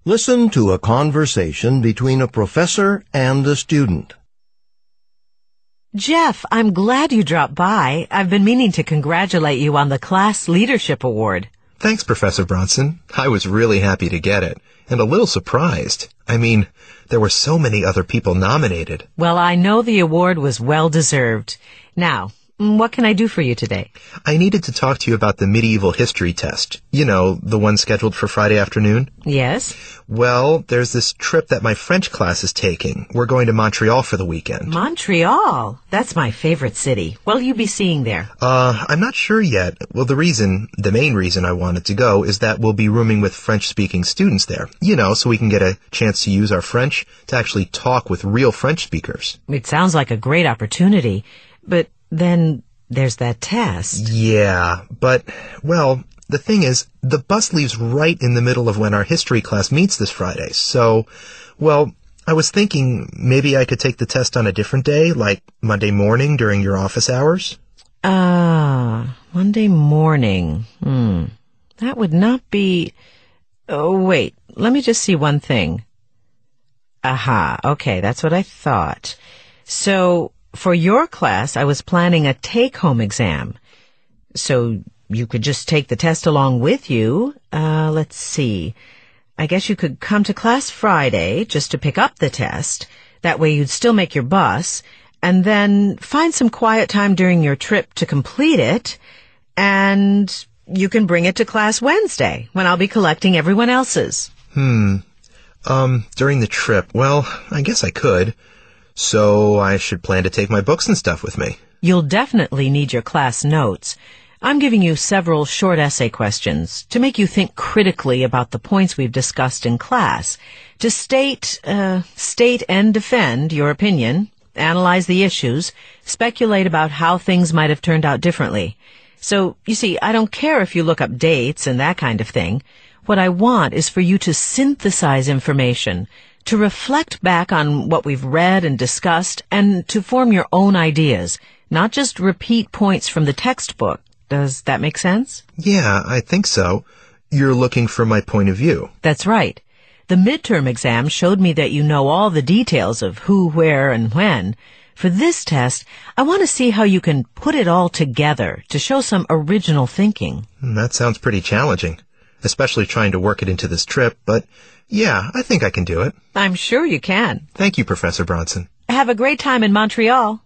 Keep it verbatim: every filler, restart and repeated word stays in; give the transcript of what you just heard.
Listen to a conversation between a professor and a student. Jeff, I'm glad you dropped by. I've been meaning to congratulate you on the Class Leadership Award. Thanks, Professor Bronson. I was really happy to get it, and a little surprised. I mean, there were so many other people nominated. Well, I know the award was well-deserved. Now, what can I do for you today? I needed to talk to you about the medieval history test. You know, the one scheduled for Friday afternoon? Yes? Well, there's this trip that my French class is taking. We're going to Montreal for the weekend. Montreal? That's my favorite city. What'll you be seeing there? Uh, I'm not sure yet. Well, the reason, the main reason I wanted to go is that we'll be rooming with French-speaking students there. You know, so we can get a chance to use our French to actually talk with real French speakers. It sounds like a great opportunity, but then there's that test. Yeah, but, well, the thing is, the bus leaves right in the middle of when our history class meets this Friday. So, well, I was thinking maybe I could take the test on a different day, like Monday morning during your office hours. Ah, Monday morning. Hmm. That would not be... Oh, wait. Let me just see one thing. Aha. Okay, that's what I thought. So... For your class, I was planning a take-home exam. So you could just take the test along with you. Uh, let's see. I guess you could come to class Friday just to pick up the test. That way you'd still make your bus. And then find some quiet time during your trip to complete it. And you can bring it to class Wednesday when I'll be collecting everyone else's. Hmm. Um, during the trip, well, I guess I could. So I should plan to take my books and stuff with me. You'll definitely need your class notes. I'm giving you several short essay questions to make you think critically about the points we've discussed in class, to state, uh, state and defend your opinion, analyze the issues, speculate about how things might have turned out differently. So, you see, I don't care if you look up dates and that kind of thing. What I want is for you to synthesize information, to reflect back on what we've read and discussed, and to form your own ideas, not just repeat points from the textbook. Does that make sense? Yeah, I think so. You're looking for my point of view. That's right. The midterm exam showed me that you know all the details of who, where, and when. For this test, I want to see how you can put it all together to show some original thinking. That sounds pretty challenging, especially trying to work it into this trip, but yeah, I think I can do it. I'm sure you can. Thank you, Professor Bronson. Have a great time in Montreal.